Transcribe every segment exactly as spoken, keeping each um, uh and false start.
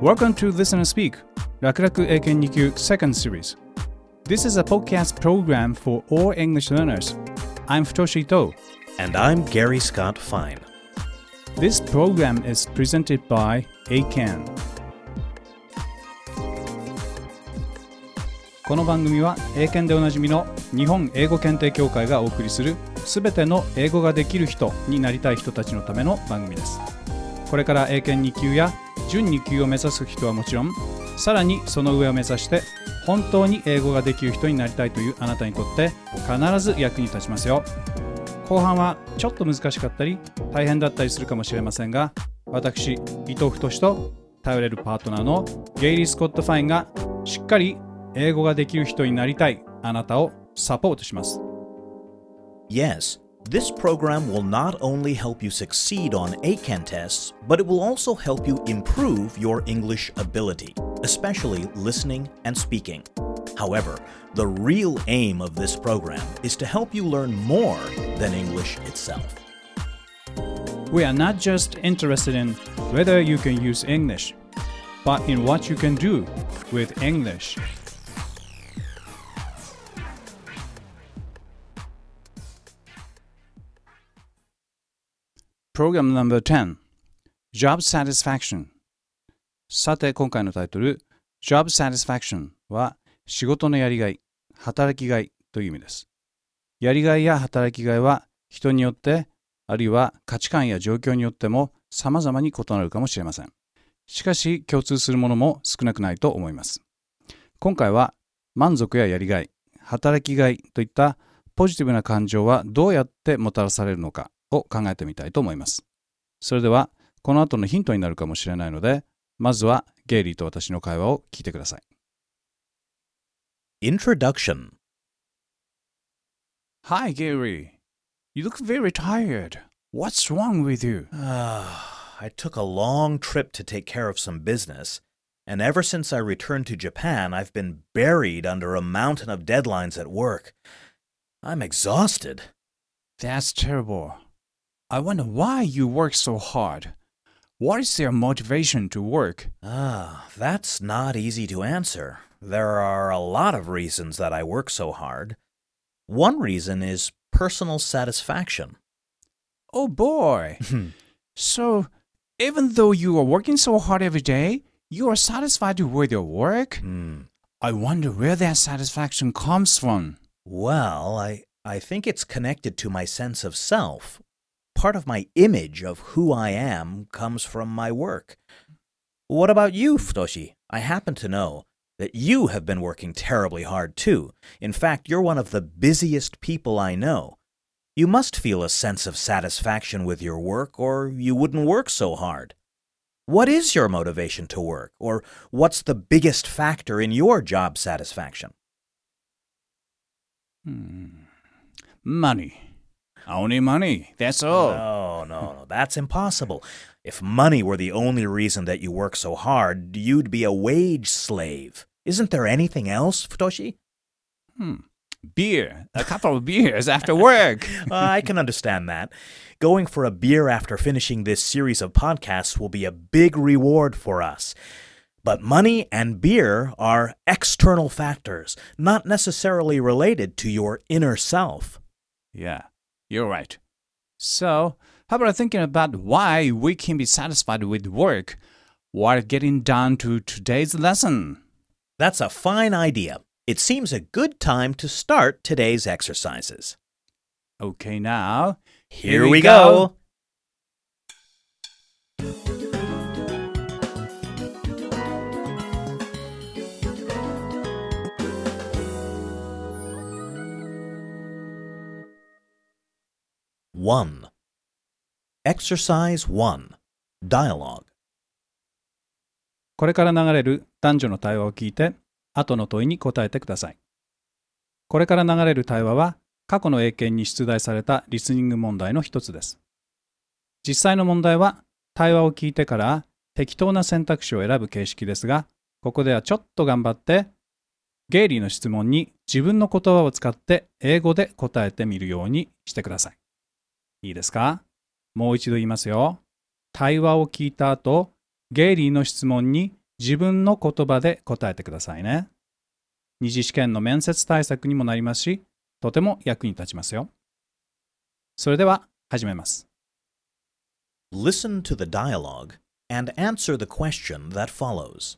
Welcome to Listen and Speak 楽々英検に級 Second Series. This is a podcast program for all English learners. I'm Futoshi Ito. And I'm Gary Scott Fine. This program is presented byエーキャン. この番組は英検でおなじみの日本英語検定協会がお送りするすべての英語ができる人になりたい人たちのための番組です。これから英検に級や準に級を目指す人はもちろん、さらにその上を目指して本当に英語ができる人になりたいというあなたにとって必ず役に立ちますよ。後半はちょっと難しかったり大変だったりするかもしれませんが、私伊藤太と頼れるパートナーのゲイリー・スコット・ファインがしっかり英語ができる人になりたいあなたをサポートします。 Yes, this program will not only help you succeed on A C A N tests, but it will also help you improve your English ability, especially listening and speaking. However, the real aim of this program is to help you learn more than English itself. We are not just interested in whether you can use English, but in what you can do with English. Program number ten. Job Satisfaction. さて、今回のタイトル Job Satisfaction は仕事のやりがい、働きがいという意味です。やりがいや働きがいは人によって、あるいは価値観や状況によっても様々に異なるかもしれません。しかし共通するものも少なくないと思います。今回は満足ややりがい、働きがいといったポジティブな感情はどうやってもたらされるのかを考えてみたいと思います。それではこの後のヒントになるかもしれないので、まずはゲイリーと私の会話を聞いてください。 Introduction. Hi, Gary. You look very tired. What's wrong with you? I took a long trip to take care of some business, and ever since I returned to Japan, I've been buried under a mountain of deadlines at work. I'm exhausted. That's terrible. I wonder why you work so hard. What is your motivation to work? Ah, that's not easy to answer. There are a lot of reasons that I work so hard. One reason is personal satisfaction. Oh boy. So, even though you are working so hard every day, you are satisfied with your work? Hmm. I wonder where that satisfaction comes from. Well, I, I think it's connected to my sense of self. Part of my image of who I am comes from my work. What about you, Futoshi? I happen to know that you have been working terribly hard too. In fact, you're one of the busiest people I know. You must feel a sense of satisfaction with your work, or you wouldn't work so hard. What is your motivation to work, or what's the biggest factor in your job satisfaction? Hmm. Money. Only money. That's all. No, no, no. That's impossible. If money were the only reason that you work so hard, you'd be a wage slave. Isn't there anything else, Futoshi? Hmm. Beer. A couple of beers after work. uh, I can understand that. Going for a beer after finishing this series of podcasts will be a big reward for us. But money and beer are external factors, not necessarily related to your inner self. Yeah, you're right. So, how about thinking about why we can be satisfied with work while getting down to today's lesson? That's a fine idea. It seems a good time to start today's exercises. Okay, now, here, here we go. go. One. Exercise one. Dialogue. これから流れる男女の対話を聞いて、後の問いに答えてください。これから流れる対話は、過去の英検に出題されたリスニング問題の一つです。実際の問題は、対話を聞いてから適当な選択肢を選ぶ形式ですが、ここではちょっと頑張って、ゲイリーの質問に自分の言葉を使って英語で答えてみるようにしてください。いいですか？もう一度言いますよ。対話を聞いた後、ゲイリーの質問に自分の言葉で答えてくださいね。二次試験の面接対策にもなりますし、とても役に立ちますよ。それでは始めます。 Listen to the dialogue and answer the question that follows.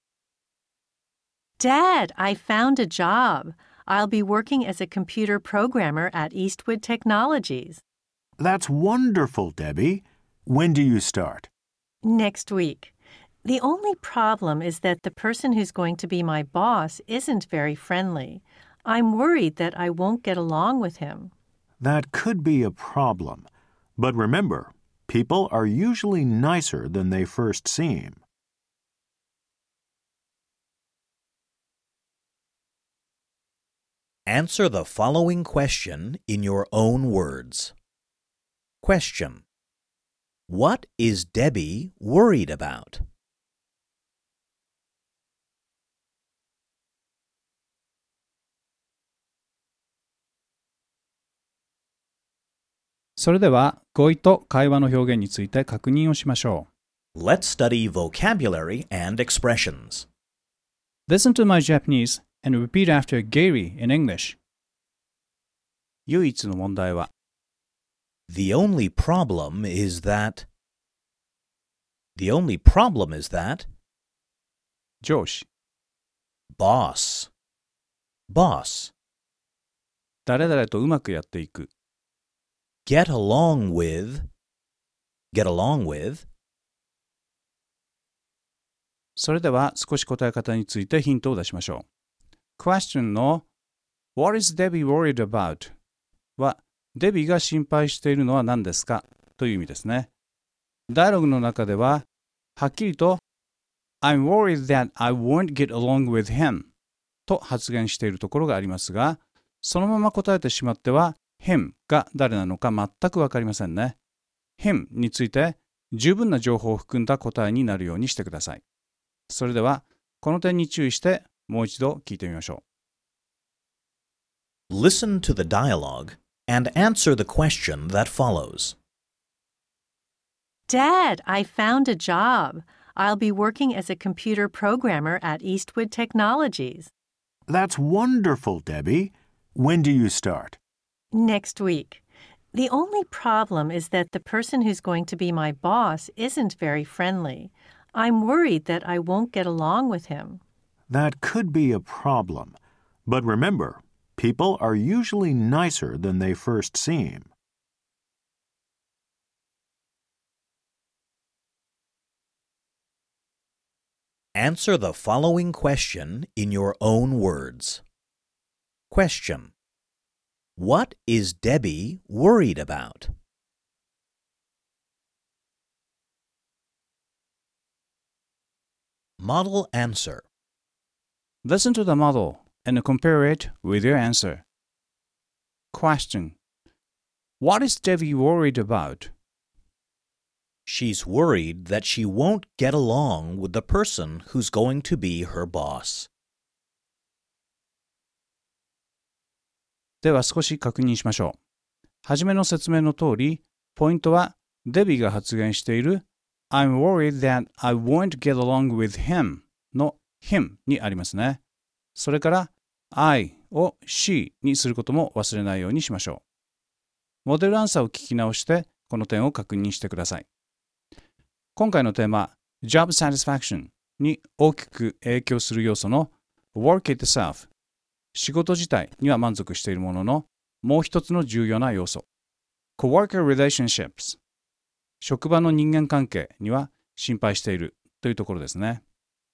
Dad, I found a job. I'll be working as a computer programmer at Eastwood Technologies. That's wonderful, Debbie. When do you start? Next week. The only problem is that the person who's going to be my boss isn't very friendly. I'm worried that I won't get along with him. That could be a problem. But remember, people are usually nicer than they first seem. Answer the following question in your own words. Question. What is Debbie worried about? 「それでは語彙と会話の表現について確認をしましょう。 Let's study vocabulary and expressions. Listen to my Japanese and repeat after Gary in English. 唯一の問題は The only problem is that. The only problem is that. 上司、 Boss. Boss. 誰々とうまくやっていく。 Get along with. Get along with. それでは少し答え方についてヒントを出しましょう。Question の What is Debbie worried about? はデビーが心配しているのは何ですかという意味ですね。ダイアログの中でははっきりと I'm worried that I won't get along with him と発言しているところがありますが、そのまま答えてしまっては him が誰なのか全くわかりませんね。him について十分な情報を含んだ答えになるようにしてください。それではこの点に注意してもう一度聞いてみましょう。Listen to the dialogue and answer the question that follows. Dad, I found a job. I'll be working as a computer programmer at Eastwood Technologies. That's wonderful, Debbie. When do you start? Next week. The only problem is that the person who's going to be my boss isn't very friendly. I'm worried that I won't get along with him. That could be a problem. But remember, people are usually nicer than they first seem. Answer the following question in your own words. Question. What is Debbie worried about? Model answer. Listen to the model and compare it with your answer. Question. What is Debbie worried about? She's worried that she won't get along with the person who's going to be her boss. では少し確認しましょう。はじめの説明の通り、ポイントはデビーが発言している I'm worried that I won't get along with him の him にありますね。それから I を she にすることも忘れないようにしましょう。モデルアンサーを聞き直してこの点を確認してください。今回のテーマ Job Satisfaction に大きく影響する要素の Work itself 仕事自体には満足しているもののもう一つの重要な要素 Coworker relationships 職場の人間関係には心配しているというところですね。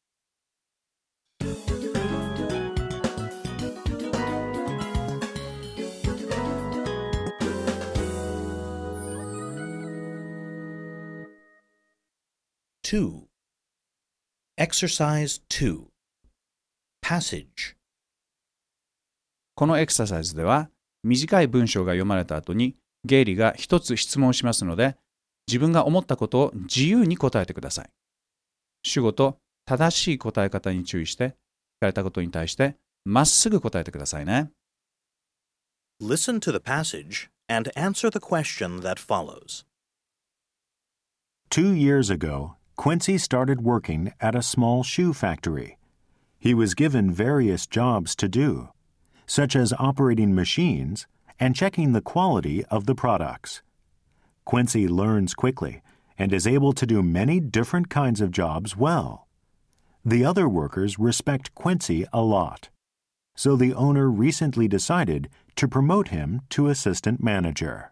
two. Exercise two. Passage. このエクササイズでは短い文章が読まれた後にゲイリーが一つ質問しますので自分が思ったことを自由に答えてください。主語と正しい答え方に注意して聞かれたことに対してまっすぐ答えてくださいね。 Listen to the passage and answer the question that follows. Two years ago, Quincy started working at a small shoe factory. He was given various jobs to do, such as operating machines and checking the quality of the products. Quincy learns quickly and is able to do many different kinds of jobs well. The other workers respect Quincy a lot, so the owner recently decided to promote him to assistant manager.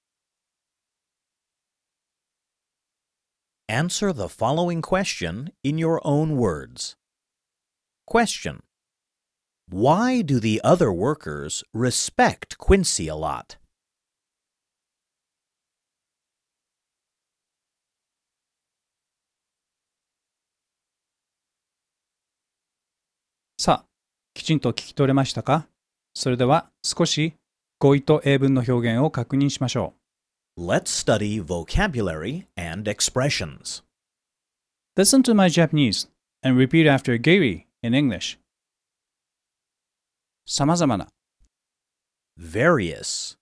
Answer the following question in your own words. Question: Why do the other workers respect Quincy a lot? さあ、きちんと聞き取れましたか？それでは少し語彙と英文の表現を確認しましょう。 Let's study vocabulary and expressions. Listen to my Japanese and repeat after Gary in English. さまざまな Various.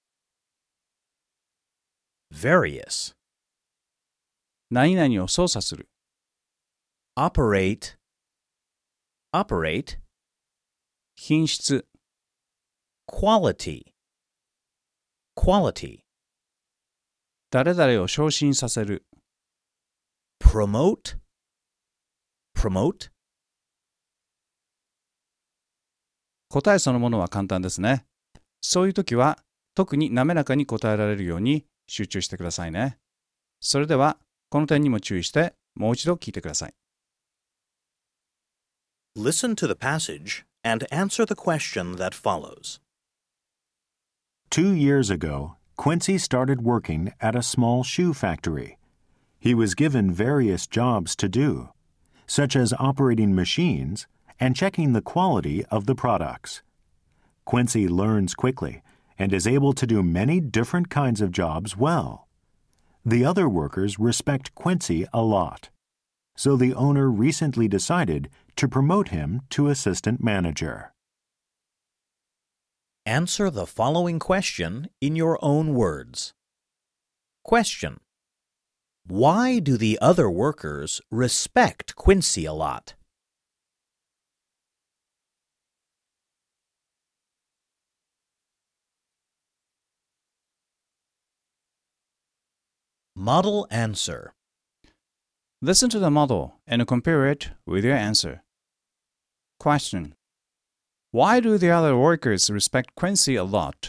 Various. 何々を操作する Operate. Operate. 品質 Quality. Quality. 誰々を昇進させる Promote. Promote. 答えそのものは簡単ですね。そういう時は特に滑らかに答えられるように集中してくださいね。それではこの点にも注意してもう一度聞いてください。 Listen to the passage and answer the question that follows. Two years ago, Quincy started working at a small shoe factory. He was given various jobs to do, such as operating machines and checking the quality of the products. Quincy learns quickly and is able to do many different kinds of jobs well. The other workers respect Quincy a lot, so the owner recently decided to promote him to assistant manager. Answer the following question in your own words. Question: Why do the other workers respect Quincy a lot? Model answer. Listen to the model and compare it with your answer. Question: Why do the other workers respect Quincy a lot?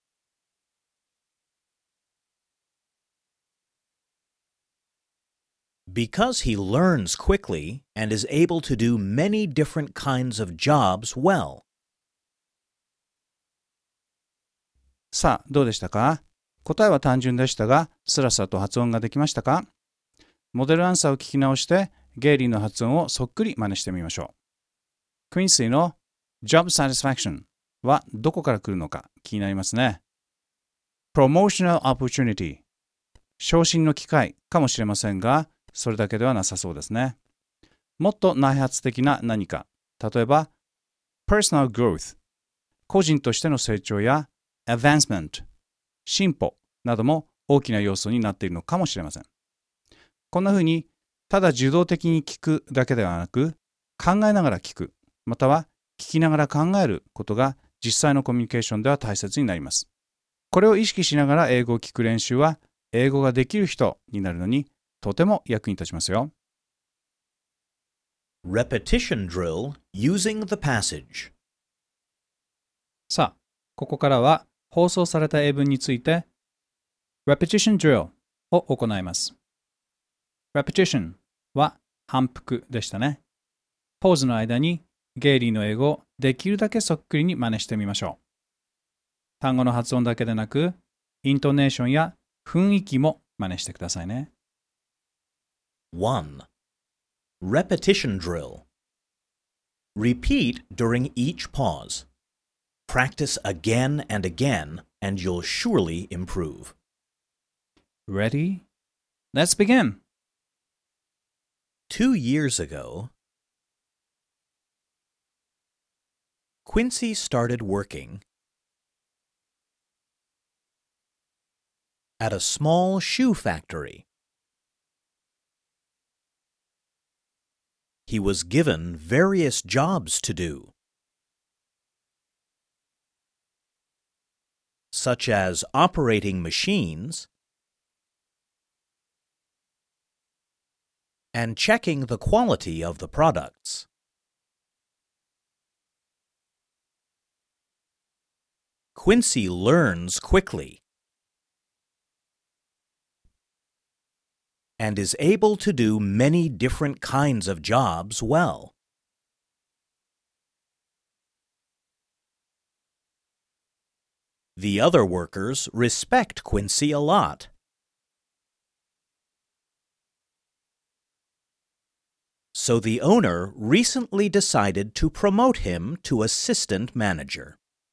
Because he learns quickly and is able to do many different kinds of jobs well. さあ、どうでしたか？答えは単純でしたが、スラスラと発音ができましたか？モデルアンサーを聞き直して、ゲイリーの発音をそっくり真似してみましょう。Quincy の Job Satisfaction はどこから来るのか気になりますね。Promotional Opportunity 昇進の機会かもしれませんが、それだけではなさそうですね。もっと内発的な何か、例えば Personal Growth 個人としての成長や Advancement 進歩なども大きな要素になっているのかもしれません。こんなふうにただ受動的に聞くだけではなく、考えながら聞く、または聞きながら考えることが実際のコミュニケーションでは大切になります。これを意識しながら英語を聞く練習は、英語ができる人になるのにとても役に立ちますよ。 Repetition drill using the passage. さあ、ここからは放送された英文について Repetition drill を行います。Repetition は反復でしたね。ポーズの間にゲイリーの英語をできるだけそっくりに真似してみましょう。単語の発音だけでなく、イントネーションや雰囲気も真似してくださいね。 one. Repetition drill. Repeat during each pause. Practice again and again, and you'll surely improve. Ready? Let's begin! Two years ago, Quincy started working at a small shoe factory. He was given various jobs to do, such as operating machines and checking the quality of the products. Quincy learns quickly and is able to do many different kinds of jobs well. The other workers respect Quincy a lot. So the owner recently decided to promote him to assistant manager.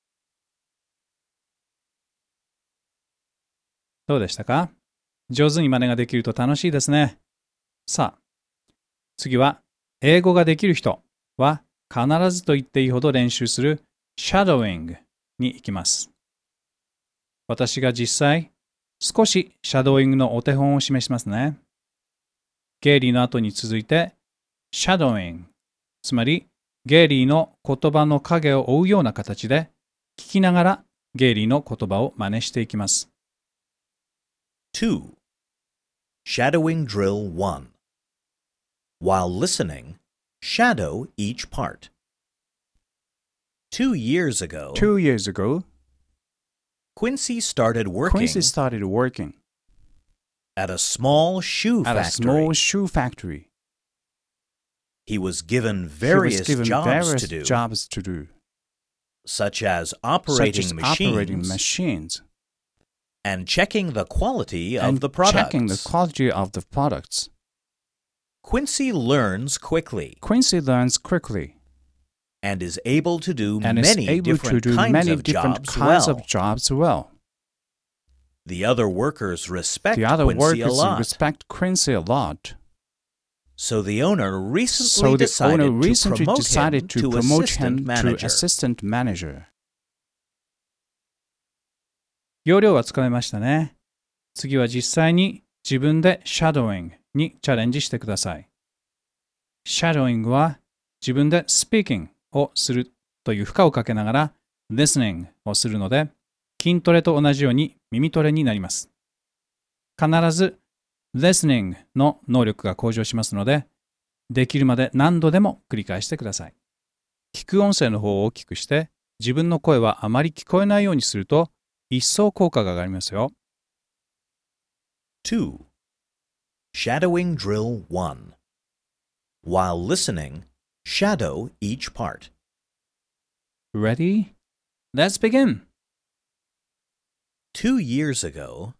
どうでしたか？上手に真似ができると楽しいですね。さあ、次は英語ができる人は必ずと言っていいほど練習する shadowing に行きます。私が実際少しシャドーイングのお手本を示しますね。ゲイリーの後に続いて shadowing、つまりゲイリーの言葉の影を追うような形で聞きながらゲイリーの言葉を真似していきます。 two. Shadowing Drill one. While listening, shadow each part. Two years ago, Two years ago, Quincy started working Quincy started working at a small shoe at a factory. small shoe factory. He was given He various was given jobs various to do, jobs to do, such as such operating as machines operating machines and checking the quality and of the products. checking the quality of the products. Quincy learns quickly Quincy learns quickly and is able to do and is many able to different do kinds many of different jobs kinds well. of jobs well. The other workers respect The other Quincy a workers lot. respect Quincy a lot. So the owner recently So the decided owner recently to promote decided him to to promote assistant him to manager. assistant manager. 要領はつかめましたね。次は実際に自分で shadowing にチャレンジしてください。shadowing は自分で speaking をするという負荷をかけながら listening をするので、筋トレと同じように耳トレになります。必ず listening の能力が向上しますので、できるまで何度でも繰り返してください。聞く音声の方を大きくして、自分の声はあまり聞こえないようにすると、一層効果が上がりますよ。 two. Shadowing Drill one. While listening, shadow each part. Ready? Let's begin! Two years ago,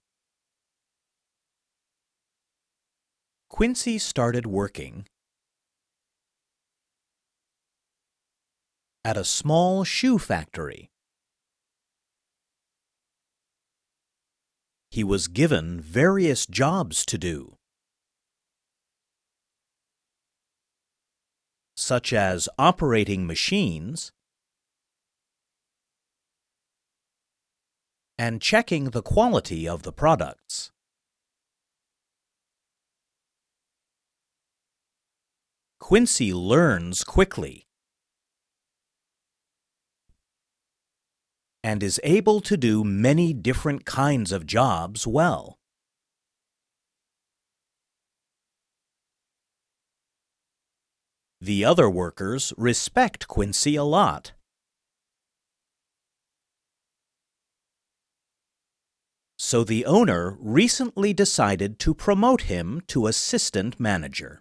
Quincy started working at a small shoe factory. He was given various jobs to do, such as operating machines and checking the quality of the products. Quincy learns quickly and is able to do many different kinds of jobs well. The other workers respect Quincy a lot. So the owner recently decided to promote him to assistant manager.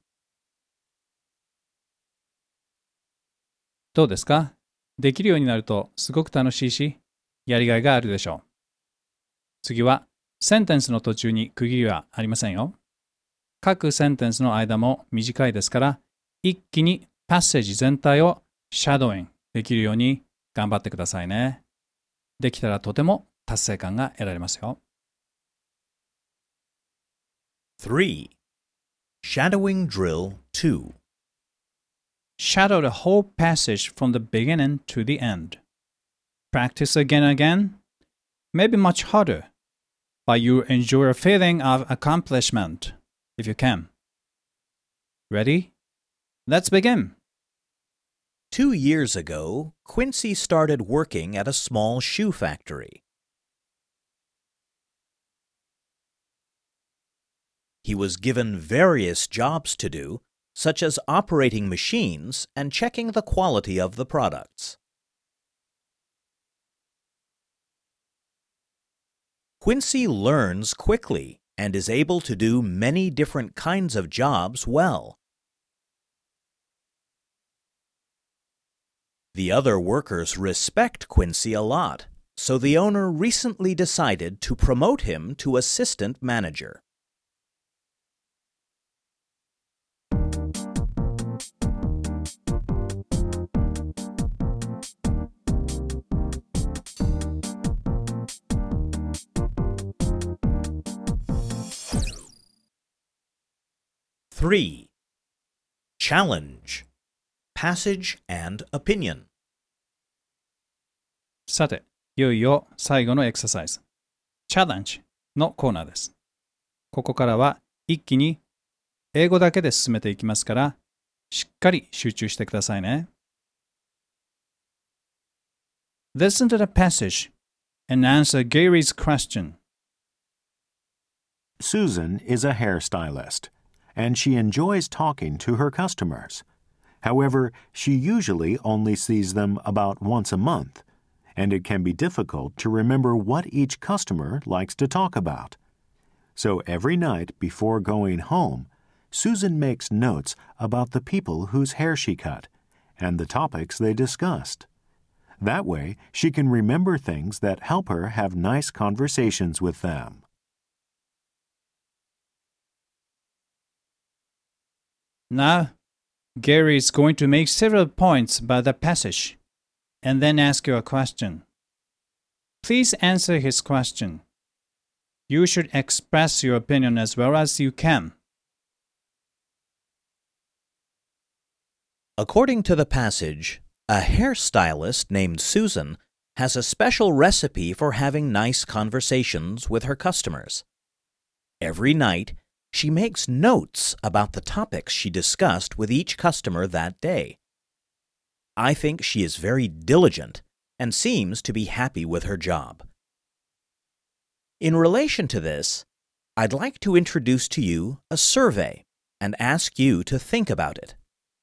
どうですか？できるようになるとすごく楽しいし、やりがいがあるでしょう。次は、センテンスの途中に区切りはありませんよ。各センテンスの間も短いですから、一気にパッセージ全体をシャドーイングできるように頑張ってくださいね。できたらとても達成感が得られますよ。 three. Shadowing Drill two. Shadow the whole passage from the beginning to the end. Practice again and again, maybe much harder, but you enjoy a feeling of accomplishment if you can. Ready? Let's begin. Two years ago, Quincy started working at a small shoe factory. He was given various jobs to do, such as operating machines and checking the quality of the products. Quincy learns quickly and is able to do many different kinds of jobs well. The other workers respect Quincy a lot, so the owner recently decided to promote him to assistant manager. Three. Challenge. Passage and opinion. さて、いよいよ最後のエクササイズ、チャレンジのコーナーです。ここからは一気に英語だけで進めていきますから、しっかり集中してくださいね。Listen to the passage and answer Gary's question. Susan is a hairstylist, and she enjoys talking to her customers. However, she usually only sees them about once a month, and it can be difficult to remember what each customer likes to talk about. So every night before going home, Susan makes notes about the people whose hair she cut and the topics they discussed. That way, she can remember things that help her have nice conversations with them. Now, Gary is going to make several points about the passage and then ask you a question. Please answer his question. You should express your opinion as well as you can. According to the passage, a hairstylist named Susan has a special recipe for having nice conversations with her customers. Every night, she makes notes about the topics she discussed with each customer that day. I think she is very diligent and seems to be happy with her job. In relation to this, I'd like to introduce to you a survey and ask you to think about it.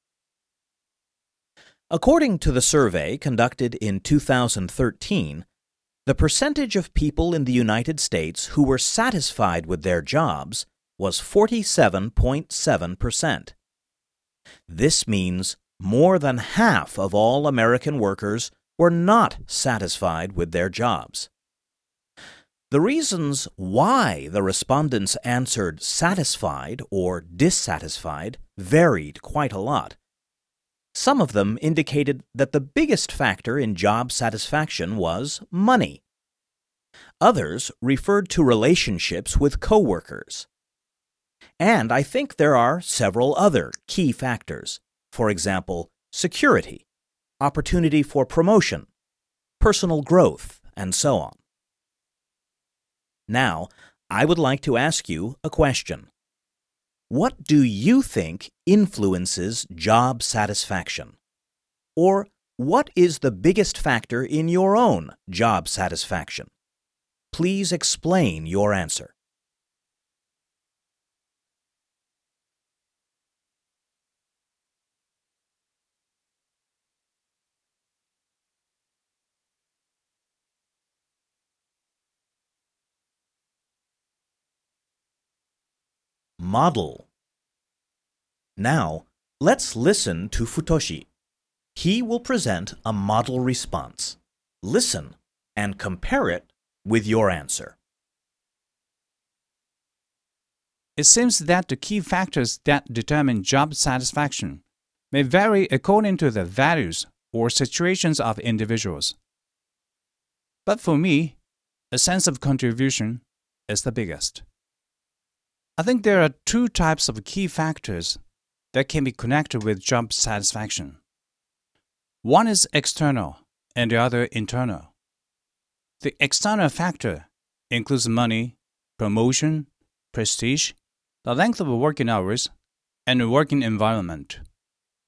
According to the survey conducted in two thousand thirteen, the percentage of people in the United States who were satisfied with their jobs was forty-seven point seven percent. This means more than half of all American workers were not satisfied with their jobs. The reasons why the respondents answered satisfied or dissatisfied varied quite a lot. Some of them indicated that the biggest factor in job satisfaction was money. Others referred to relationships with coworkers. And I think there are several other key factors. For example, security, opportunity for promotion, personal growth, and so on. Now, I would like to ask you a question. What do you think influences job satisfaction? Or what is the biggest factor in your own job satisfaction? Please explain your answer. Model. Now, let's listen to Futoshi. He will present a model response. Listen and compare it with your answer. It seems that the key factors that determine job satisfaction may vary according to the values or situations of individuals. But for me, a sense of contribution is the biggest. I think there are two types of key factors that can be connected with job satisfaction. One is external and the other internal. The external factor includes money, promotion, prestige, the length of working hours, and the working environment.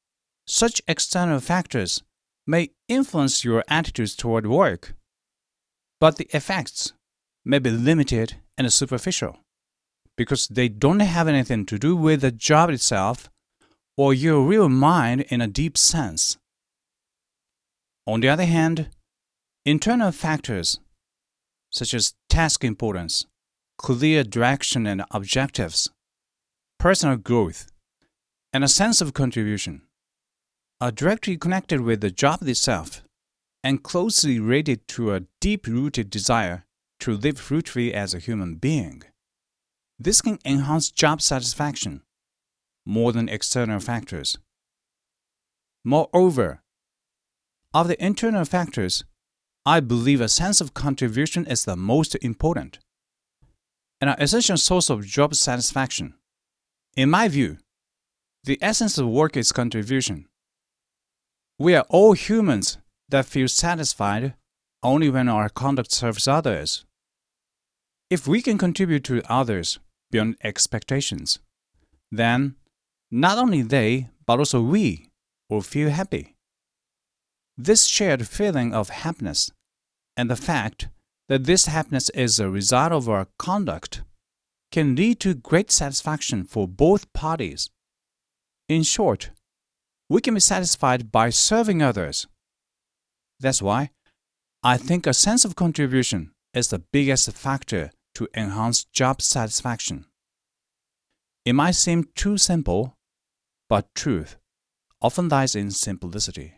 such external factors may influence your attitudes toward work, but the effects may be limited and superficial because they don't have anything to do with the job itself or your real mind in a deep sense. On the other hand, internal factors such as task importance, clear direction and objectives, personal growth, and a sense of contribution are directly connected with the job itself and closely related to a deep-rooted desire to live fruitfully as a human being. This can enhance job satisfaction more than external factors. Moreover, of the internal factors, I believe a sense of contribution is the most important and an essential source of job satisfaction. In my view, the essence of work is contribution. We are all humans that feel satisfied only when our conduct serves others. If we can contribute to others beyond expectations, then not only they, but also we will feel happy. This shared feeling of happiness and the fact that this happiness is a result of our conduct can lead to great satisfaction for both parties. In short, we can be satisfied by serving others. That's why I think a sense of contribution is the biggest factor to enhance job satisfaction. It might seem too simple, but truth often lies in simplicity.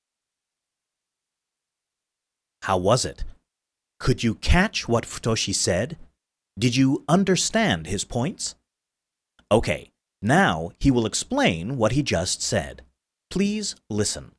How was it? Could you catch what Futoshi said? Did you understand his points? Okay, now he will explain what he just said. Please listen.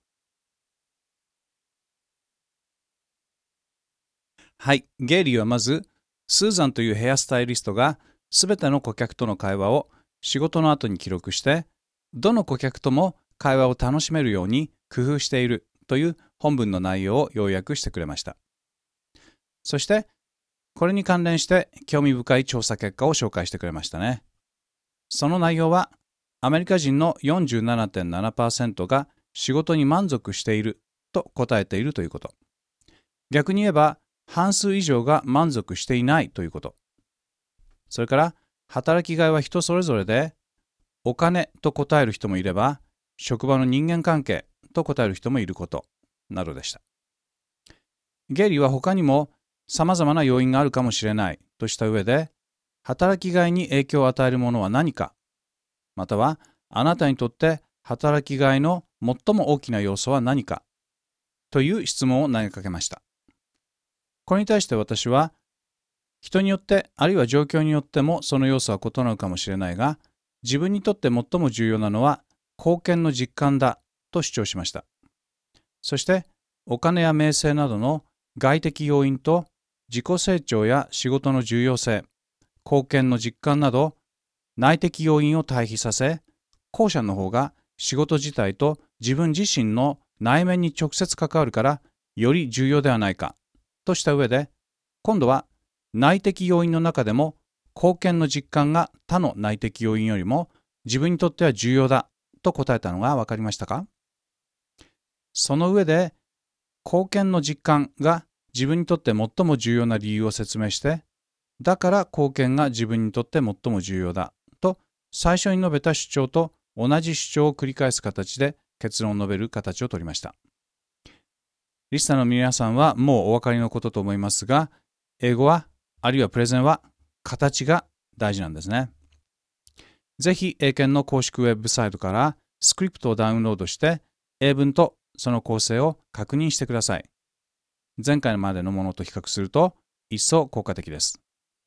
はい、ゲイリーはまず、スーザンというヘアスタイリストがすべての顧客との会話を仕事の後に記録して、どの顧客とも会話を楽しめるように工夫しているという本文の内容を要約してくれました。そして、これに関連して興味深い調査結果を紹介してくれましたね。その内容は、アメリカ人の よんじゅうななてんななパーセント が仕事に満足していると答えているということ。逆に言えば、半数以上が満足していないということ。それから、働きがいは人それぞれで、お金と答える人もいれば、職場の人間関係と答える人もいることなどでした。ゲイリーは他にも様々な要因があるかもしれないとした上で、働きがいに影響を与えるものは何か、またはあなたにとって働きがいの最も大きな要素は何かという質問を投げかけました。これに対して私は、人によってあるいは状況によってもその要素は異なるかもしれないが、自分にとって最も重要なのは貢献の実感だと主張しました。そして、お金や名声などの外的要因と自己成長や仕事の重要性、貢献の実感など内的要因を対比させ、後者の方が仕事自体と自分自身の内面に直接関わるからより重要ではないかとした上で、今度は内的要因の中でも貢献の実感が他の内的要因よりも自分にとっては重要だと答えたのが分かりましたか？その上で貢献の実感が自分にとって最も重要な理由を説明して、だから貢献が自分にとって最も重要だと最初に述べた主張と同じ主張を繰り返す形で結論を述べる形を取りました。リスナーの皆さんはもうお分かりのことと思いますが、英語はあるいはプレゼンは形が大事なんですね。ぜひ英検の公式ウェブサイトからスクリプトをダウンロードして英文とその構成を確認してください。前回までのものと比較すると一層効果的です。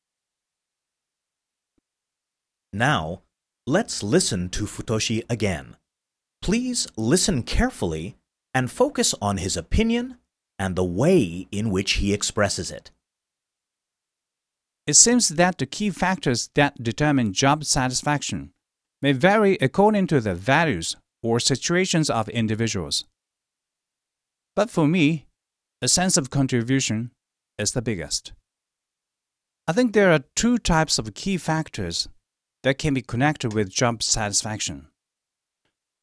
Now, let's listen to Futoshi again. Please listen carefully and focus on his opinion and the way in which he expresses it. It seems that the key factors that determine job satisfaction may vary according to the values or situations of individuals. But for me, a sense of contribution is the biggest. I think there are two types of key factors that can be connected with job satisfaction.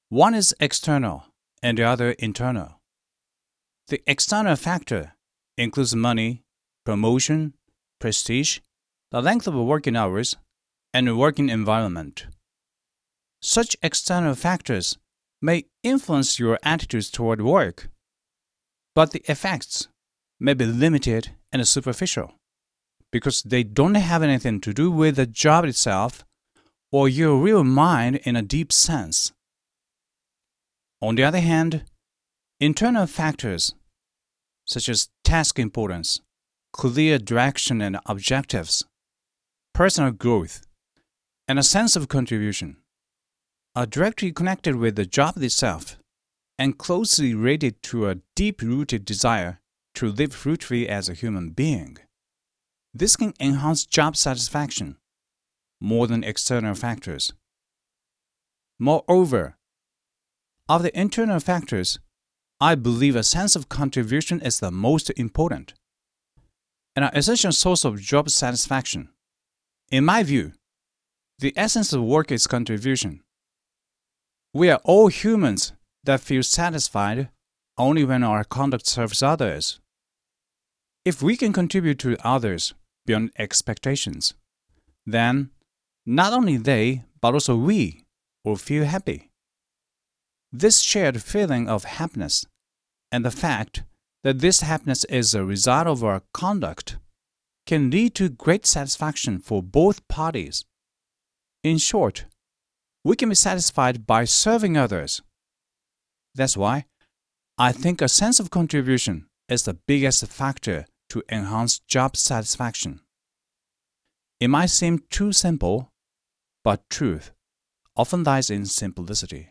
One is external and the other internal. The external factor includes money, promotion, prestige, the length of working hours, and working environment. Such external factors may influence your attitudes toward work, but the effects may be limited and superficial because they don't have anything to do with the job itself or your real mind in a deep sense. On the other hand, internal factors such as task importance, clear direction and objectives, personal growth, and a sense of contribution are directly connected with the job itself and closely related to a deep-rooted desire to live fruitfully as a human being. This can enhance job satisfaction more than external factors. Moreover, of the internal factors, I believe a sense of contribution is the most important and an essential source of job satisfaction. In my view, the essence of work is contribution. We are all humans that feel satisfied only when our conduct serves others. If we can contribute to others beyond expectations, then not only they, but also we will feel happy. This shared feeling of happiness and the fact that this happiness is a result of our conduct can lead to great satisfaction for both parties. In short, we can be satisfied by serving others. That's why I think a sense of contribution is the biggest factor to enhance job satisfaction. It might seem too simple, but truth often lies in simplicity.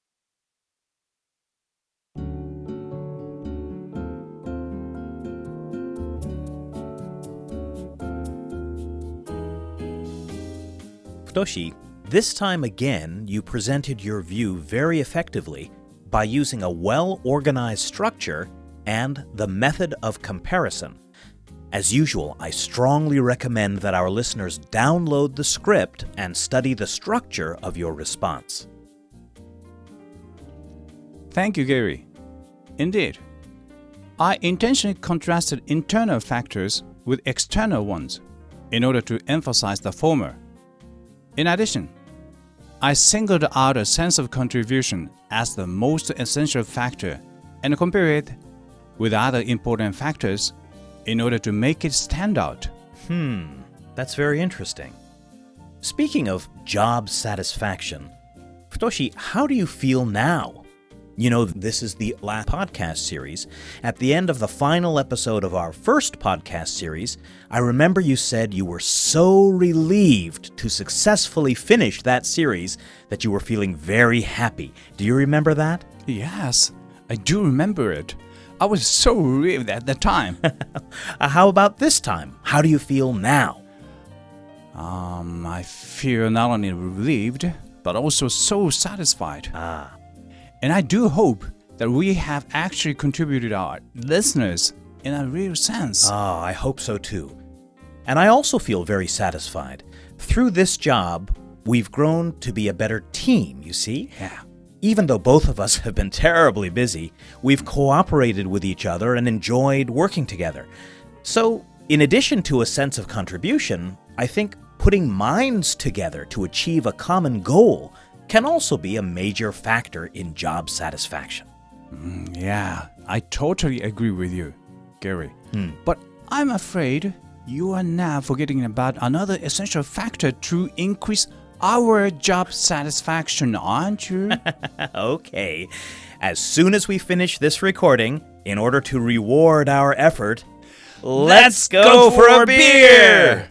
Futoshi, this time again you presented your view very effectively by using a well-organized structure and the method of comparison. As usual, I strongly recommend that our listeners download the script and study the structure of your response. Thank you, Gary. Indeed, I intentionally contrasted internal factors with external ones in order to emphasize the former. In addition, I singled out a sense of contribution as the most essential factor and compared it with other important factors in order to make it stand out. Hmm, that's very interesting. Speaking of job satisfaction, Futoshi, how do you feel now? You know, this is the last podcast series. At the end of the final episode of our first podcast series, I remember you said you were so relieved to successfully finish that series that you were feeling very happy. Do you remember that? Yes, I do remember it. I was so relieved at the time. How about this time? How do you feel now? Um, I feel not only relieved, but also so satisfied. Ah. And I do hope that we have actually contributed our listeners in a real sense. Ah, I hope so too. And I also feel very satisfied. Through this job, we've grown to be a better team, you see? Yeah. Even though both of us have been terribly busy, we've cooperated with each other and enjoyed working together. So, in addition to a sense of contribution, I think putting minds together to achieve a common goal can also be a major factor in job satisfaction. Mm, yeah, I totally agree with you, Gary. Hmm. But I'm afraid you are now forgetting about another essential factor to increase our job satisfaction, aren't you? Okay. As soon as we finish this recording, in order to reward our effort, let's go for a beer!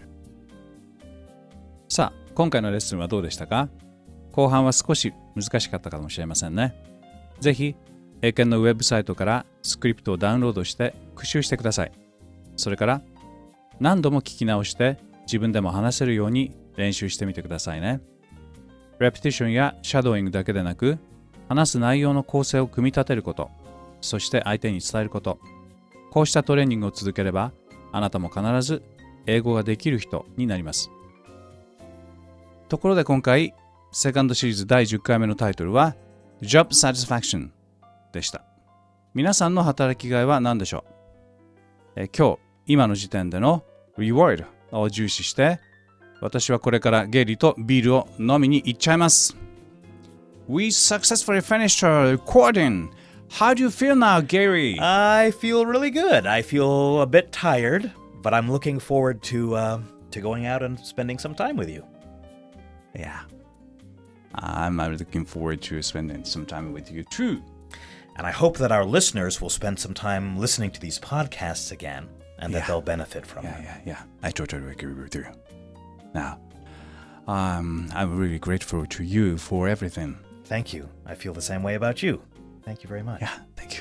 さあ、今回のレッスンはどうでしたか？後半は少し難しかったかもしれませんね。ぜひ、英検のウェブサイトからスクリプトをダウンロードして復習してください。それから、何度も聞き直して自分でも話せるように練習してみてくださいね。レプティションやシャドーイングだけでなく、話す内容の構成を組み立てること、そして相手に伝えること。こうしたトレーニングを続ければ、あなたも必ず英語ができる人になります。ところで今回、セカンドシリーズだいじゅっかいめのタイトルは Job satisfaction でした。皆さんの働きがいは何でしょう？え今日、今の時点での reward を重視して、私はこれからゲイリーとビールを飲みに行っちゃいます。We successfully finished our recording. How do you feel now, Gary? I feel really good. I feel a bit tired, but I'm looking forward to uh, to going out and spending some time with you. Yeah. I'm looking forward to spending some time with you too. And I hope that our listeners will spend some time listening to these podcasts again and that Yeah. they'll benefit from Yeah, them. yeah, yeah. I totally agree with you. Now, um, I'm really grateful to you for everything. Thank you. I feel the same way about you. Thank you very much. Yeah, thank you.